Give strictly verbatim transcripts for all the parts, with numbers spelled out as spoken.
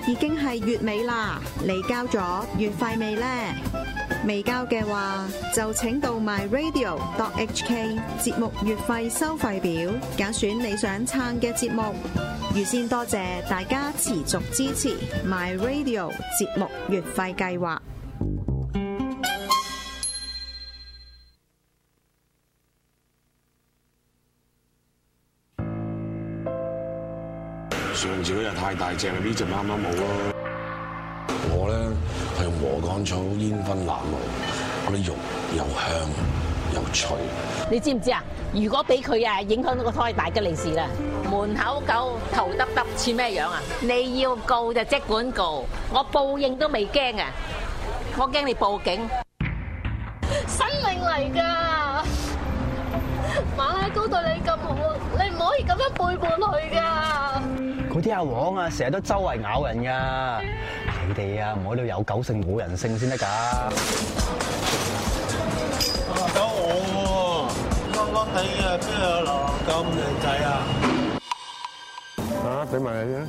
已經係月尾啦，你交咗月費未呢？未交嘅話，就請到 my radio dot h k 節目月費收費表，揀選你想撐嘅節目。預先多謝大家持續支持 my radio 節目月費計劃。 上次嗰日太大隻啦，呢隻啱啱好咯。我咧係用禾稈草煙燻鴨肉，嗰啲肉又香又脆。 你知唔知啊？如果俾佢啊影響到個胎，大吉利是啦！門口狗頭耷耷似咩樣啊？你要告就即管告，我報應都未驚啊！我驚你報警。 生命嚟㗎，馬拉糕對你咁好，你唔可以咁樣背叛佢㗎。 嗰啲阿黃啊，成日都周圍咬人噶，你哋啊唔好都有狗性冇人性先得㗎。 狗我喎，笠笠地啊，邊有流浪狗咁靚仔啊？ 啊，俾埋你先。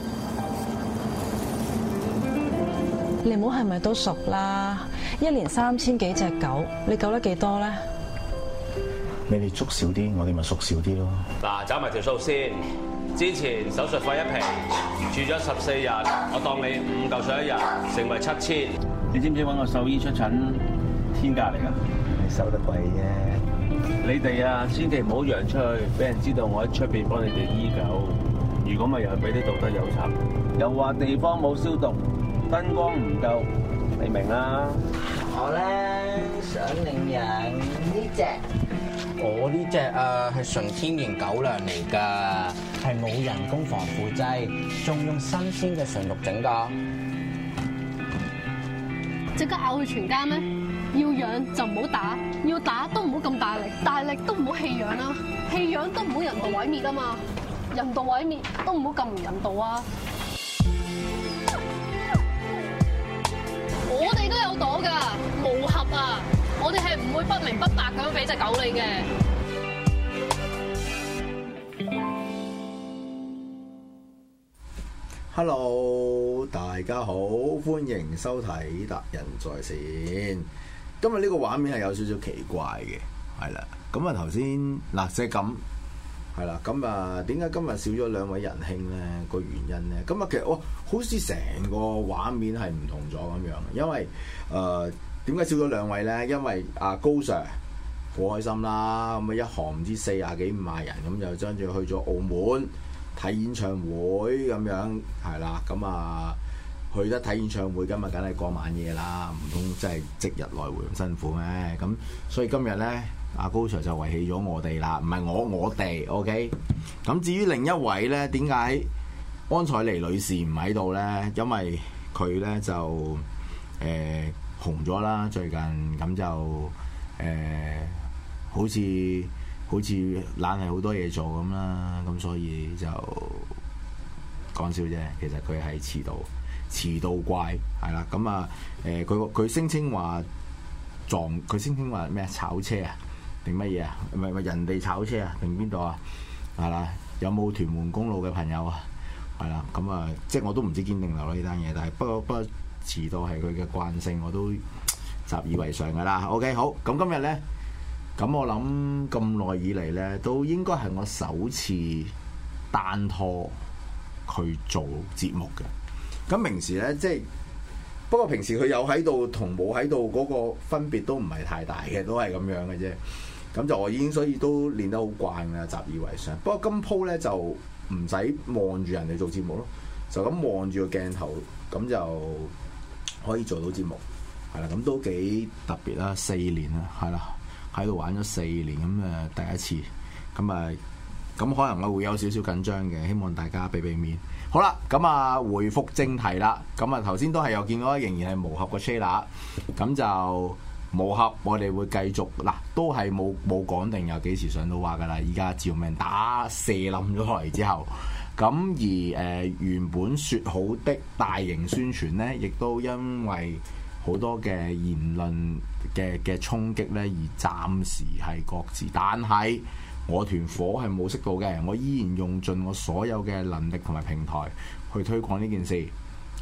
你唔好係咪都熟啦？一年三千幾隻狗，你救得幾多咧？ 你哋捉少啲，我哋咪縮少啲咯。 嗱，找埋條數先。之前手術費一皮，住咗十四日，我當你五嚿水一日，成為七千。 你知唔知揾個獸醫出診天價嚟㗎？ 你收得貴啫。 你哋啊，千祈唔好揚出去，俾人知道我喺出邊幫你哋醫狗。如果咪又係俾啲道德有賊，又話地方冇消毒，燈光唔夠，你明啦。 我咧想領養呢隻。 我呢隻啊係純天然狗糧嚟㗎， 係冇人工防腐劑，仲用新鮮嘅純肉整㗎。 即刻咬佢全家咩？要養就唔好打，要打都唔好咁大力，大力都唔好棄養啦，棄養都唔好人道毀滅啊嘛，人道毀滅都唔好咁唔人道啊！我哋都有朵㗎，無合啊！我哋係唔會不明不白咁樣俾隻狗你嘅。 Hello， 大家好，歡迎收睇達仁在線。今日呢個畫面係有少少奇怪嘅，係啦。咁啊頭先嗱即係咁，係啦。咁啊點解今日少咗兩位仁兄咧？個原因咧，咁啊其實哇，好似成個畫面係唔同咗咁樣。因為誒點解少咗兩位咧？因為阿高 Sir 好開心啦，咁啊一行唔知四廿幾五廿人，咁就將住去咗澳門睇演唱會咁樣，係啦，咁啊去得睇演唱會，今日梗係過晚夜啦，唔通真係即日來回咁辛苦咩？咁所以今日咧，阿高 Sir 就遺棄咗我哋啦，唔係我我哋 OK。咁至於另一位咧，點解安采妮女士唔喺度咧？因為佢咧就誒、呃、紅咗啦，最近咁就誒、呃、好似。好似懶係好多嘢做咁啦，咁所以就講笑啫。其實佢係遲到，遲到怪係啦。咁啊誒，佢佢聲稱話撞，佢聲稱話咩炒車啊？定乜嘢啊？唔係唔係人哋炒車啊？定邊度啊？係啦，有冇屯門公路嘅朋友啊？係啦，咁啊，即係我都唔知堅定流呢單嘢，但係不過不過遲到係佢嘅慣性，我都習以為常㗎啦。OK，好，咁今日咧。咁我諗咁耐以嚟咧，都應該係我首次單拖去做節目嘅。咁平時咧，即係不過平時佢有喺度同冇喺度嗰個分別都唔係太大嘅，都係咁樣嘅啫。咁就我已經所以都練得好慣啦，習以為常。不過今鋪咧就唔使望住人哋做節目咯，就咁望住個鏡頭，咁就可以做到節目，係啦。咁都幾特別啦，四年啦，係啦。喺度玩咗四年咁誒，第一次咁啊，咁可能我會有少少緊張嘅，希望大家俾俾面。好啦，咁啊，回覆正題啦。咁啊，頭先都係有見到，仍然係無合個 trailer，咁就無合，我哋會繼續嗱，都係冇冇講定有幾時上到畫噶啦。而家照命打射冧咗落嚟之後，咁而誒、呃、原本説好的大型宣傳呢，亦都因為好多嘅言論嘅嘅衝擊咧，而暫時係擱置。但係我團火係冇熄到嘅，我依然用盡我所有嘅能力同埋平台去推廣呢件事。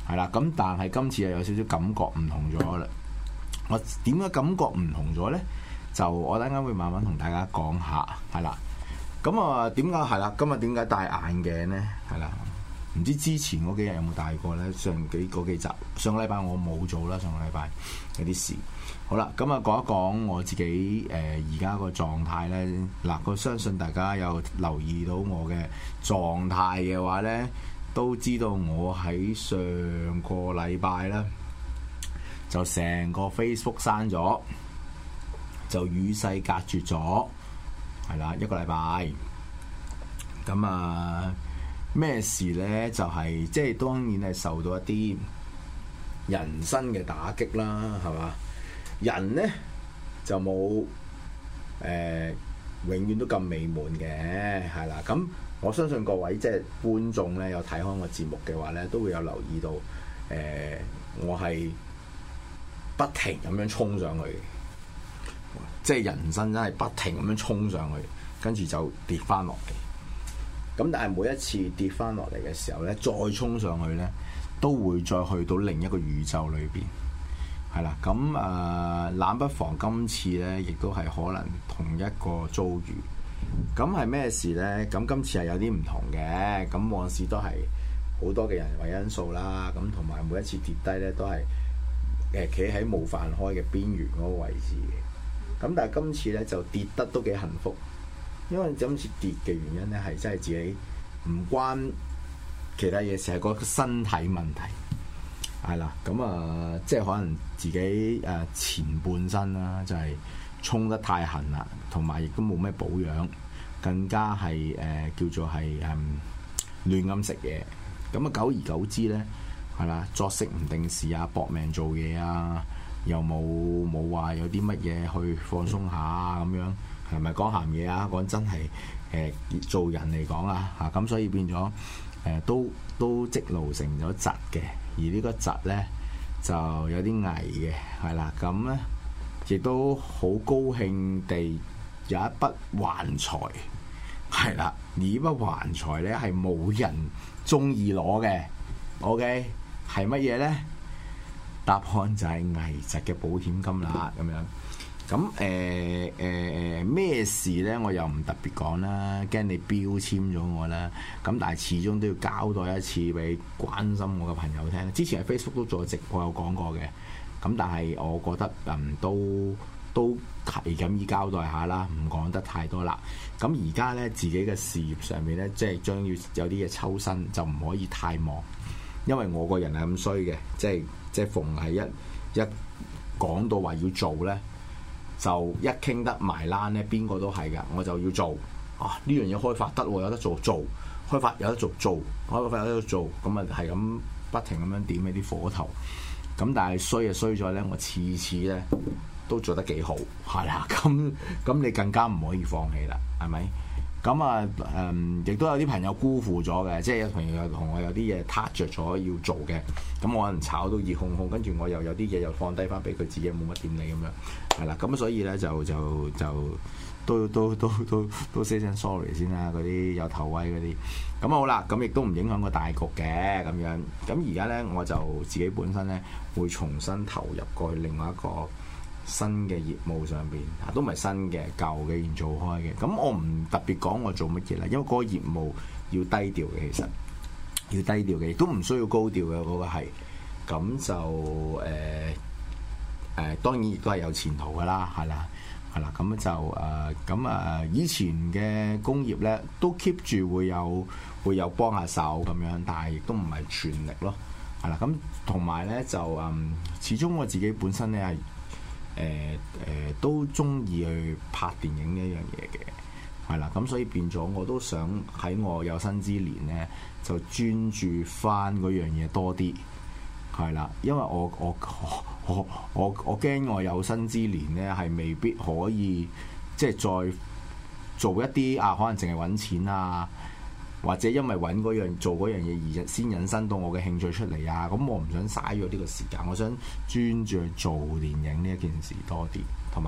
係啦。咁但係今次又有少少感覺唔同咗啦。我點解感覺唔同咗咧？就我等間會慢慢同大家講下，係啦。咁啊點解係啦？今日點解戴眼鏡咧？係啦。唔知之前嗰幾日有冇戴過咧？上幾嗰幾集，上個禮拜我冇做啦。上個禮拜有啲事。好啦，咁啊講一講我自己誒而家個狀態咧。嗱，我相信大家有留意到我嘅狀態嘅話咧，都知道我喺上個禮拜咧就成個 Facebook 刪咗，就與世隔絕咗，係啦一個禮拜。咁啊〜咩事呢？就係、是、即係當然係受到一啲人生嘅打擊啦，係嘛？人呢，就冇誒、呃、永遠都咁美滿嘅，係啦。咁我相信各位即係觀眾呢，有睇開我節目嘅話呢，都會有留意到誒、呃，我係不停咁樣衝上去，即係人生真係不停咁樣衝上去，跟住就跌翻落嚟。咁但係每一次跌翻落嚟嘅時候咧，再衝上去咧，都會再去到另一個宇宙裏邊，係啦。咁誒、呃，冷不防今次咧，亦都係可能同一個遭遇。咁係咩事咧？咁今次係有啲唔同嘅。咁往事都係好多嘅人為因素啦。咁同埋每一次跌低咧，都係誒企喺冇飯開嘅邊緣嗰個位置嘅。咁但係今次咧就跌得都幾幸福。因為今次跌嘅原因咧，係真係自己唔關其他嘢事，係個身體問題，係啦。咁啊，即係可能自己誒前半身啦，就係衝得太狠啦，同埋亦都冇咩保養，更加係誒、呃、叫做係誒亂咁食嘢。咁啊，久而久之咧，係啦，作息唔定時啊，搏命做嘢啊，又冇冇話有啲乜嘢去放鬆下啊咁樣。係咪講鹹嘢啊？講真係誒、呃、做人嚟講啊嚇，咁所以變咗誒、呃、都都積勞成咗疾嘅，而呢個疾咧就有啲危嘅，係啦。咁咧亦都好高興地有一筆橫財，係啦。而呢筆橫財咧係冇人中意攞嘅。OK 係乜嘢咧？答案就係危疾嘅保險金啦，咁樣。咁誒誒誒咩事咧？我又唔特別講啦，驚你標籤咗我啦。咁但係始終都要交代一次俾關心我嘅朋友聽。之前喺 Facebook 都做咗直播有講過嘅。咁但係我覺得嗯都都係咁依交代下啦，唔講得太多啦。咁而家咧自己嘅事業上面咧，即係將要有啲嘢抽身，就唔可以太忙，因為我個人係咁衰嘅，即係即係逢係一一講到話要做咧。就一傾得埋欄咧，邊個都係㗎，我就要做啊！呢樣嘢開發得喎，有得做做，開發有得做做，開發有得做，咁啊係咁不停咁樣點起啲火頭。咁但係衰就衰咗咧，我次次咧都做得幾好，係啦。咁咁你更加唔可以放棄啦，係咪？咁啊誒，亦都有啲朋友辜負咗嘅，即係有朋友同我有啲嘢撻着咗要做嘅，咁我可能炒到熱烘烘，跟住我又有啲嘢又放低翻俾佢自己，冇乜點理咁樣，係啦。咁所以咧就就就都都都都都 say 聲 sorry 先啦，嗰啲有頭威嗰啲。咁好啦，咁亦都唔影響個大局嘅咁樣。咁而家咧我就自己本身咧會重新投入過去另外一個新嘅業務上邊，啊都唔係新嘅，舊嘅已經做開嘅。咁我唔特別講我做乜嘢啦，因為嗰個業務要低調嘅，其實要低調嘅，亦都唔需要高調嘅嗰個係。咁就誒誒、呃呃，當然亦都係有前途噶啦，係啦，係啦。咁就誒咁啊，以前嘅工業咧都 keep 住會有會有幫下手咁樣，但係亦都唔係全力咯，係啦。咁同埋咧就嗯，始終我自己本身咧係。誒誒、呃呃、都中意去拍電影呢一樣嘢嘅，係啦，咁所以變咗我都想喺我有生之年咧就專注翻嗰樣嘢多啲，係啦，因為我我我我我驚我有生之年咧係未必可以即係再做一啲啊，可能淨係揾錢啊。或者因為揾嗰樣做嗰樣嘢而先引申到我嘅興趣出嚟啊！咁我唔想嘥咗呢個時間，我想專注去做電影呢一件事多啲，同埋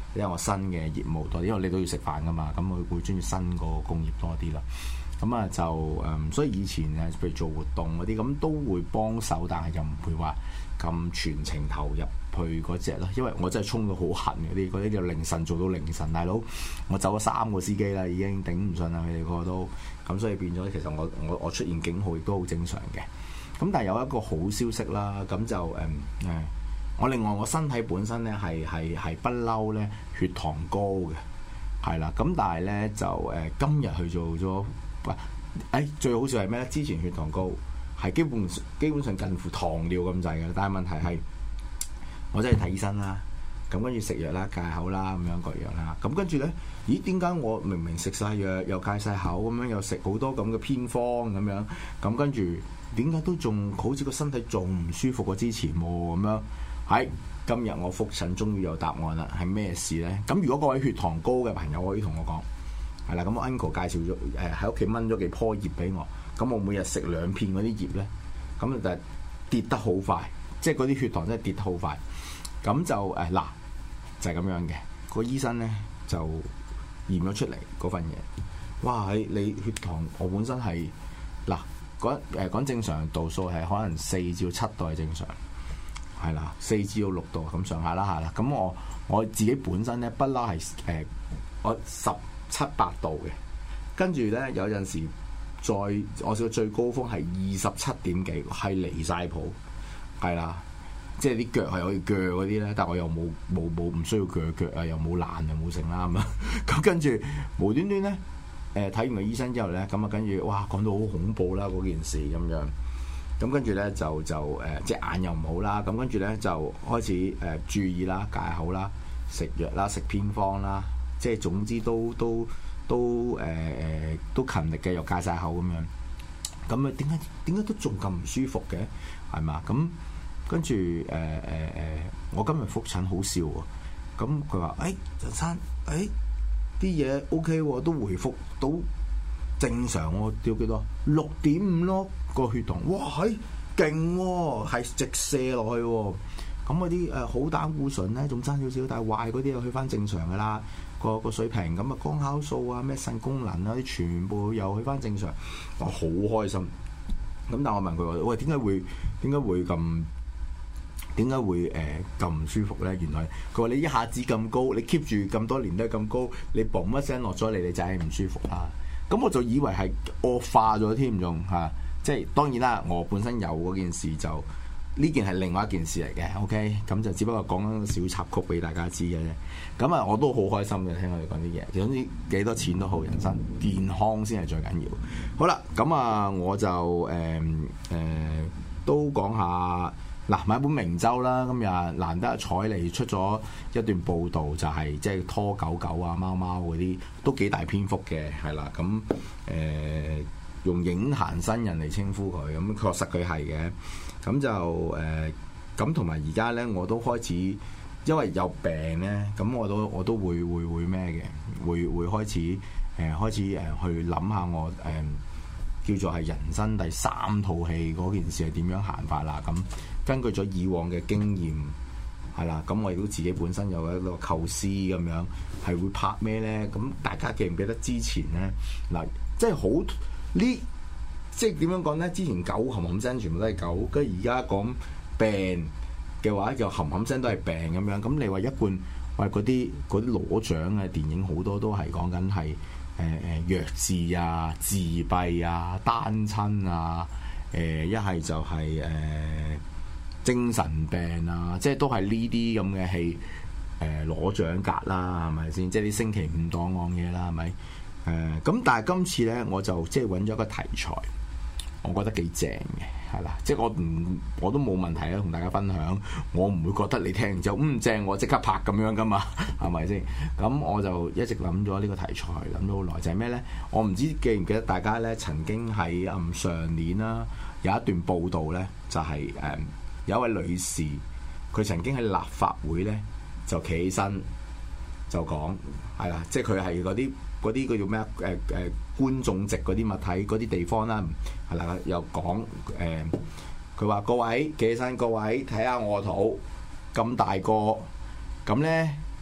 因為我新嘅業務多啲，因為你都要食飯噶嘛，咁佢會專注新個工業多啲啦。咁啊就誒、嗯，所以以前誒譬如做活動嗰啲，咁都會幫手，但係就唔會話咁全程投入去嗰隻咯。因為我真係衝到好痕嗰啲，嗰啲叫凌晨做到凌晨，大佬我走咗三個司機啦，已經頂唔順啦，佢哋個個都咁，所以變咗其實我我我出現警號亦都好正常嘅。咁但係有一個好消息啦，咁就誒誒、嗯，我另外我身體本身咧係係係不嬲咧血糖高嘅，係啦。咁但係咧就誒、呃、今日去做咗。喂，誒最好笑係咩咧？之前血糖高係基本基本上近乎糖尿咁滯嘅，但係問題係我真係睇醫生啦，咁跟住食藥啦、戒口啦咁樣各樣啦，咁跟住咧，咦？點解我明明食晒藥又戒晒口咁樣，又食好多咁嘅偏方咁樣，咁跟住點解都仲好似個身體仲唔舒服過之前喎？咁樣係今日我覆診終於有答案啦，係咩事咧？咁如果各位血糖高嘅朋友可以同我講。係啦，咁我 uncle 介紹咗誒喺屋企掹咗幾棵葉俾我，咁我每日食兩片嗰啲葉咧，咁就跌得好快，即係嗰啲血糖真係跌得好快。咁就誒嗱、呃、就係、是、咁樣嘅。個醫生咧就驗咗出嚟嗰份嘢，哇！你你血糖我本身係嗱講誒講正常度數係可能四至七度係正常，係啦，四至到六度咁上下啦嚇啦。咁我我自己本身咧不嬲係誒我十七八度嘅，跟住咧有陣時再我試過最高峰係二十七點幾，係離晒譜，係啦，即係啲腳係可以鋸嗰啲咧，但係我又冇冇冇唔需要鋸腳啊，又冇爛又冇成啦咁啊，咁跟住無端端咧誒睇完個醫生之後咧，咁啊跟住哇講到好恐怖啦嗰件事咁樣，咁跟住咧就就誒隻眼又唔好啦，咁跟住咧就開始誒、呃、注意啦、戒口啦、食藥啦、食偏方啦。即係總之都都都誒誒、呃、都勤力嘅，又戒晒口咁樣。咁啊點解點解都仲咁唔舒服嘅？係嘛？咁跟住誒誒誒，我今日覆診好笑喎。咁佢話：誒陳生，誒啲嘢 O K 喎，都回復到正常喎。掉幾多？六點五咯個血糖。哇係勁喎，係直射落去喎。咁嗰啲誒好膽固醇咧，仲爭少少，但係壞嗰啲又去翻正常噶啦。個個水平咁啊，光酵素啊、咩腎功能啊啲全部又去翻正常，我好開心。咁但係我問佢話：喂，點解會點解會咁點解會誒咁唔舒服咧？原來佢話你一下子咁高，你 keep 住咁多年都係咁高，你嘣一聲落咗嚟，你就係唔舒服啦。咁我就以為係惡化咗添，仲嚇，即係當然啦，我本身有嗰件事就。呢件係另外一件事嚟嘅 ，OK，咁就只不過講緊個小插曲俾大家知嘅啫。咁啊，我都好開心嘅，聽佢哋講啲嘢。總之幾多錢都好，人生健康先係最緊要。好啦，咁啊，我就誒誒、呃呃、都講下嗱，買本明周啦。今日難得彩嚟出咗一段報導，就係即係拖狗狗啊、貓貓嗰啲都幾大篇幅嘅，係啦。咁誒、呃、用影壇新人嚟稱呼佢，咁確實佢係嘅。咁就誒咁同埋而家咧，我都開始因為有病咧，咁我都我都會會會咩嘅，會會開始誒、呃、開始誒去諗下我誒、呃、叫做係人生第三套戲嗰件事係點樣行法啦。咁根據咗以往嘅經驗係啦，咁我亦都自己本身有一個構思咁樣，係會拍咩咧？咁大家記唔記得之前咧嗱，即係好呢？即係點樣講咧？之前狗冚冚聲全部都係狗，跟住而家講病嘅話，又冚冚聲都係病咁樣。咁你話一貫話嗰啲嗰啲攞獎嘅電影好多都係講緊係誒誒弱智啊、自閉啊、單親啊，誒一係就係、是、誒、呃、精神病啊，即係都係呢啲咁嘅戲誒攞獎格啦，係咪先？即係啲星期五檔案嘢啦，係咪？誒、呃、咁，但係今次咧，我就即係揾咗一個題材。我覺得幾正嘅，係啦，即係我唔我都冇問題啦，同大家分享。我唔會覺得你聽完之後嗯正，我即刻拍咁樣噶嘛，係咪先？咁我就一直諗咗呢個題材，諗咗好耐，就係咩咧？我唔知記唔記得大家咧曾經喺嗯上年啦有一段報導咧，就係、是、誒、嗯、有一位女士，佢曾經喺立法會咧就企起身就講係啦，即係佢係嗰啲。嗰啲叫做咩啊？誒、呃、誒、呃、觀眾席嗰啲物體嗰啲地方啦，係啦，又講誒，佢、呃、話各位企起身，各位睇下我肚咁大個，咁咧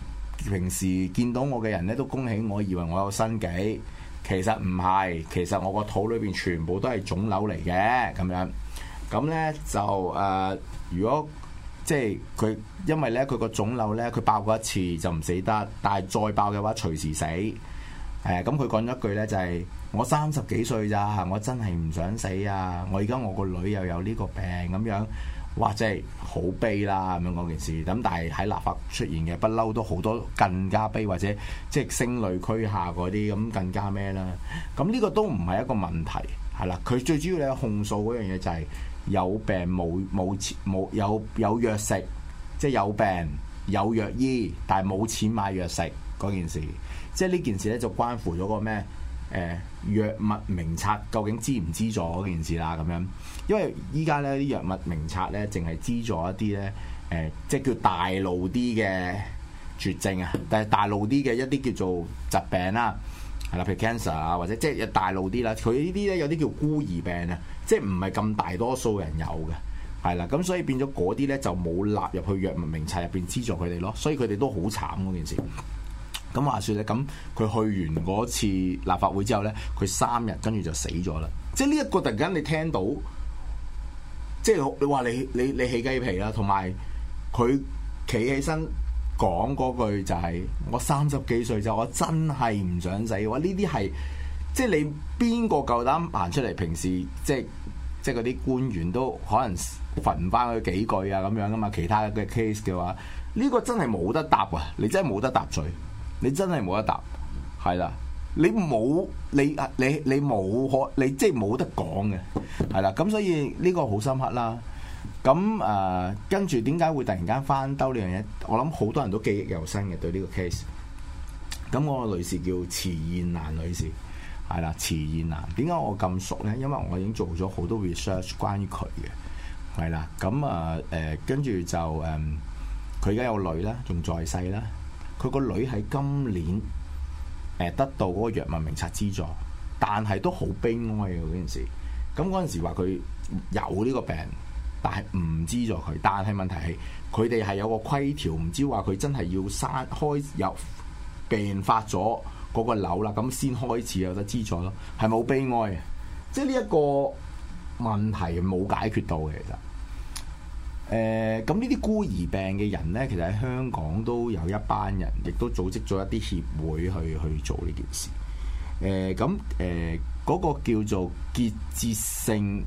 平時見到我嘅人咧都恭喜我，以為我有身紀，其實唔係，其實我個肚裏邊全部都係腫瘤嚟嘅咁樣。咁咧就誒、呃，如果即係佢，因為咧佢個腫瘤咧，佢爆過一次就唔死得，但係再爆嘅話隨時死。誒、呃，咁佢講咗一句咧就係、是：我三十幾歲咋，我真係唔想死啊！我而家我個女又有呢個病咁樣。哇！真係好悲啦咁樣嗰件事，咁但係喺立法出現嘅不嬲都好多更加悲，或者即係聲淚俱下嗰啲咁更加咩啦？咁呢個都唔係一個問題，係啦。佢最主要咧控訴嗰樣嘢就係有病冇冇錢冇有有藥食，即係有病有藥醫，但係冇錢買藥食嗰件事。即係呢件事咧就關乎咗個咩？誒、呃、藥物名冊究竟資唔資助嗰件事啦咁樣，因為依家咧啲藥物名冊咧淨係資助一啲咧誒，即係叫大路啲嘅絕症啊，但係大路啲嘅一啲叫做疾病啦，係啦，譬如 cancer 啊，或者即係大路啲啦，佢呢啲咧有啲叫孤兒病啊，即係唔係咁大多數人有嘅，係啦，咁所以變咗嗰啲咧就冇納入去藥物名冊入邊資助佢哋咯，所以佢哋都好慘嗰件事。咁話説咧，咁佢去完嗰次立法會之後咧，佢三日跟住就死咗啦。即係呢一個突然間你聽到，即係你話你你你起雞皮啦，同埋佢企起身講嗰句就係、是、我三十幾歲就我真係唔想死。哇！呢啲係即係你邊個夠膽行出嚟？平時即係即係嗰啲官員都可能罰唔翻佢幾句啊咁樣噶嘛。其他嘅 case 嘅話，呢、這個真係冇得答啊！你真係冇得答罪。你真係冇得答，係啦，你冇你你你冇可，你即係冇得講嘅，係啦，咁所以呢個好深刻啦。咁誒、呃，跟住點解會突然間翻兜呢樣嘢？我諗好多人都記憶猶新嘅對呢個 case。咁我個女士叫遲燕蘭女士，係啦，遲燕蘭。點解我咁熟咧？因為我已經做咗好多 research 關於佢嘅，係啦。咁啊誒，跟住就誒，佢而家有女啦，仲在世啦。佢個女喺今年誒、呃、得到嗰個藥物名冊資助，但係都好悲哀嘅嗰件事。咁嗰陣時話佢有呢個病，但係唔資助佢。但係問題係佢哋係有個規條，唔知話佢真係要刪開有病發咗嗰個瘤啦，咁先開始有得資助咯。係咪好悲哀嘅？即係呢一個問題冇解決到嘅其實。誒咁呢啲孤兒病嘅人呢，其實喺香港都有一班人，亦都組織咗一啲協會去去做呢件事。誒咁誒嗰個叫做結節性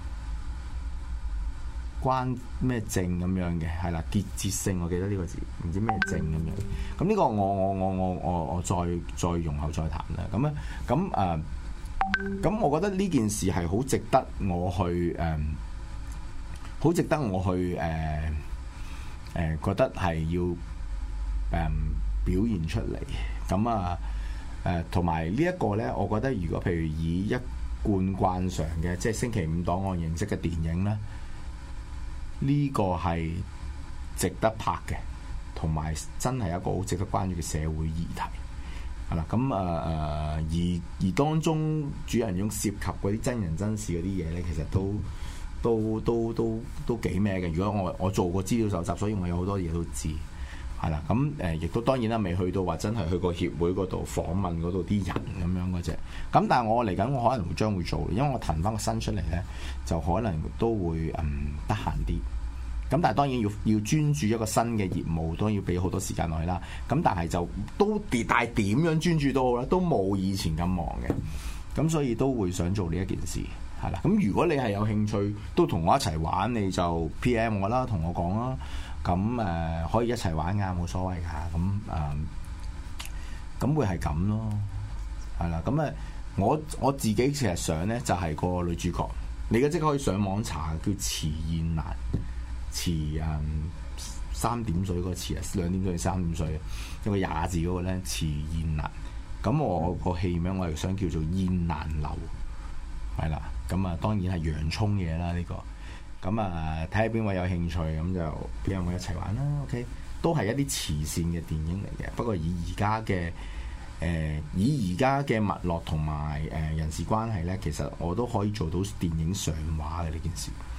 關咩症咁樣嘅，係啦，結節性我記得呢個字，唔知咩症咁樣。咁呢個我我我我我我再再容後再談啦。咁咧咁誒咁，我覺得呢件事係好值得我去誒。呃好值得我去誒誒、呃呃、覺得係要誒、呃、表現出嚟咁啊誒，同埋呢一個咧，我覺得如果譬如以一貫慣常嘅即係星期五檔案形式嘅電影咧，呢、這個係值得拍嘅，同埋真係一個好值得關注嘅社會議題係啦。咁啊誒，而而當中主人翁涉及嗰啲真人真事嗰啲嘢咧，其實都〜都都都都幾咩嘅？如果我我做過資料搜集，所以我有好多嘢都知，係啦。咁誒，亦、呃、都當然啦，未去到話真係去個協會嗰度訪問嗰度啲人咁樣嗰隻。咁但係我嚟緊，我可能會將會做，因為我騰翻個新出嚟咧，就可能都會嗯得閒啲。咁但係當然要要專注一個新嘅業務，都要俾好多時間落去啦。咁但係就都跌，但係點樣專注都好啦，都冇以前咁忙嘅。咁所以都會想做呢一件事。係啦，咁如果你係有興趣，都同我一齊玩，你就 P M 我啦，同我講啦。咁誒、呃、可以一齊玩㗎，冇所謂㗎。咁誒，咁、呃、會係咁咯。係啦，咁誒，我我自己其實想咧，就係、是、個女主角。你而家即刻可以上網查，叫遲燕蘭，遲誒三點水嗰個遲啊，兩點水定三點水，有個廿字嗰個咧，遲燕蘭。咁我個戲名我係想叫做燕蘭樓。係啦，咁啊當然係洋葱嘢啦呢個，咁啊睇下邊位有興趣，咁就邊有冇一齊玩啦 ？OK，都係一啲慈善嘅電影嚟嘅，不過以而家嘅誒以而家嘅脈絡同埋誒人事關係咧，其實我都可以做到電影上畫嘅呢件事，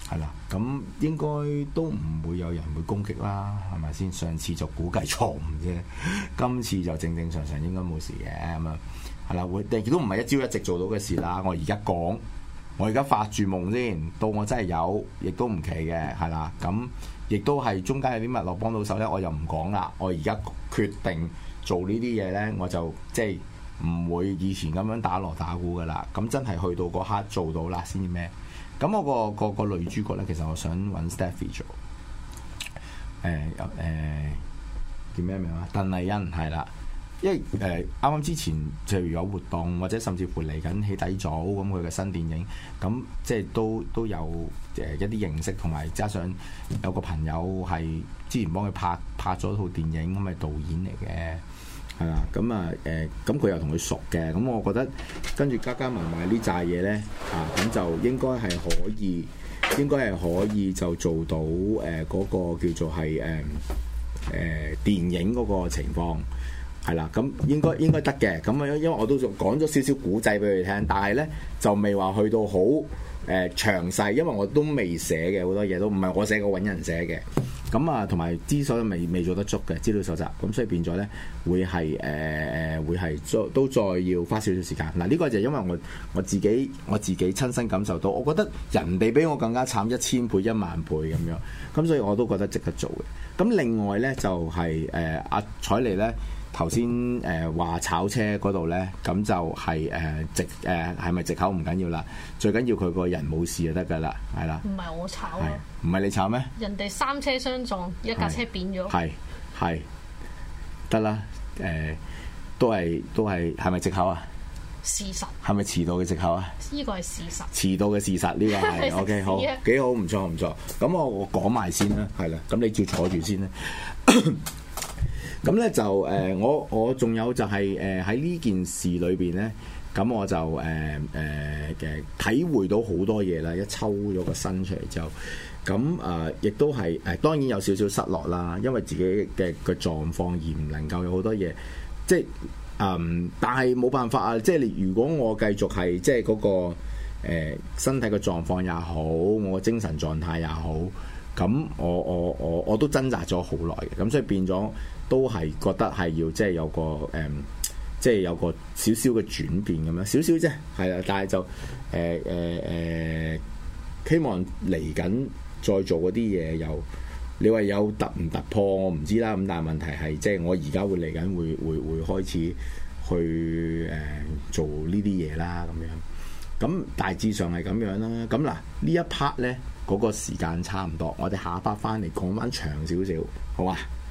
係啦，咁應該都唔會有人會攻擊啦，係咪先？上次就估計錯誤啫，今次就正正常常應該冇事嘅咁啊，係啦，會亦都唔係一朝一夕做到嘅事啦。我而家講，我而家發住夢先，到我真係有，亦都唔奇嘅，係啦。咁亦都係中間有啲乜落幫到手咧，我又唔講啦。我而家決定做呢啲嘢咧，我就即係唔會以前咁樣打鑼打鼓噶啦。咁真係去到嗰刻做到啦先至咩？咁我個個個女主角咧，其實我想揾 Stephy 做，誒有誒叫咩名啊？鄧麗欣係啦，因為誒啱啱之前就有活動，或者甚至乎嚟緊起底組咁佢嘅新電影，咁即係都都有誒一啲認識，同埋加上有個朋友係之前幫佢拍拍咗套電影，咁係導演嚟嘅。係啦，咁啊誒，咁佢又同佢熟嘅，咁我覺得跟住加加埋埋呢扎嘢咧，啊咁就應該係可以，應該係可以就做到誒嗰、呃嗰個叫做係誒誒電影嗰個情況，係啦，咁應該應該得嘅，咁啊因為我都講咗少少古仔俾佢聽，但係咧就未話去到好誒、呃、詳細，因為我都未寫嘅好多嘢都唔係我寫過，揾人寫嘅。咁啊，同埋資料未未做得足嘅資料搜集，咁所以變咗咧會係誒誒會係再都再要花少少時間。嗱、啊、呢、呢個就係因為我我自己我自己親身感受到，我覺得人哋比我更加慘一千倍一萬倍咁樣，咁所以我都覺得值得做嘅。咁另外咧就係誒阿采妮咧頭先誒話炒車嗰度咧，咁就係誒藉誒係咪藉口唔緊要啦，最緊要佢個人冇事就得㗎啦，係啦。 唔係我炒啊！ 唔係你炒咩？ 人哋三車相撞，一架車扁咗。係係得啦，誒、呃、都係都係係咪藉口啊？ 事實係咪遲到嘅藉口啊？ 呢個係事實。遲到嘅事實呢、呢個係 OK 好幾好，唔錯唔錯。咁我我講埋先啦，係啦，咁你照坐住先啦。咁咧就誒、呃，我我仲有就係誒喺呢件事裏邊咧，咁我就誒誒嘅體會到好多嘢啦。一抽咗個身出嚟之後，咁誒亦都係誒、呃、當然有少少失落啦，因為自己嘅嘅狀況而唔能夠有好多嘢，即係嗯，但係冇辦法啊！即係你如果我繼續係即係嗰、嗰個、呃、身體嘅狀況也好，我精神狀態也好，咁我我我我都掙扎咗好耐嘅，咁所以變咗。都係覺得係要即係有個誒、嗯，即係有個少少嘅轉變咁樣，少少啫，係啦。但係就誒誒誒，希望嚟緊再做嗰啲嘢，又你話有突唔突破，我唔知啦。咁但係問題係，即係我而家會嚟緊會會會開始去誒、呃、做呢啲嘢啦，咁樣。咁大致上係咁樣啦。咁嗱呢一 part 咧，嗰、嗰個時間差唔多，我哋下一 part 翻嚟講翻長少少，好啊？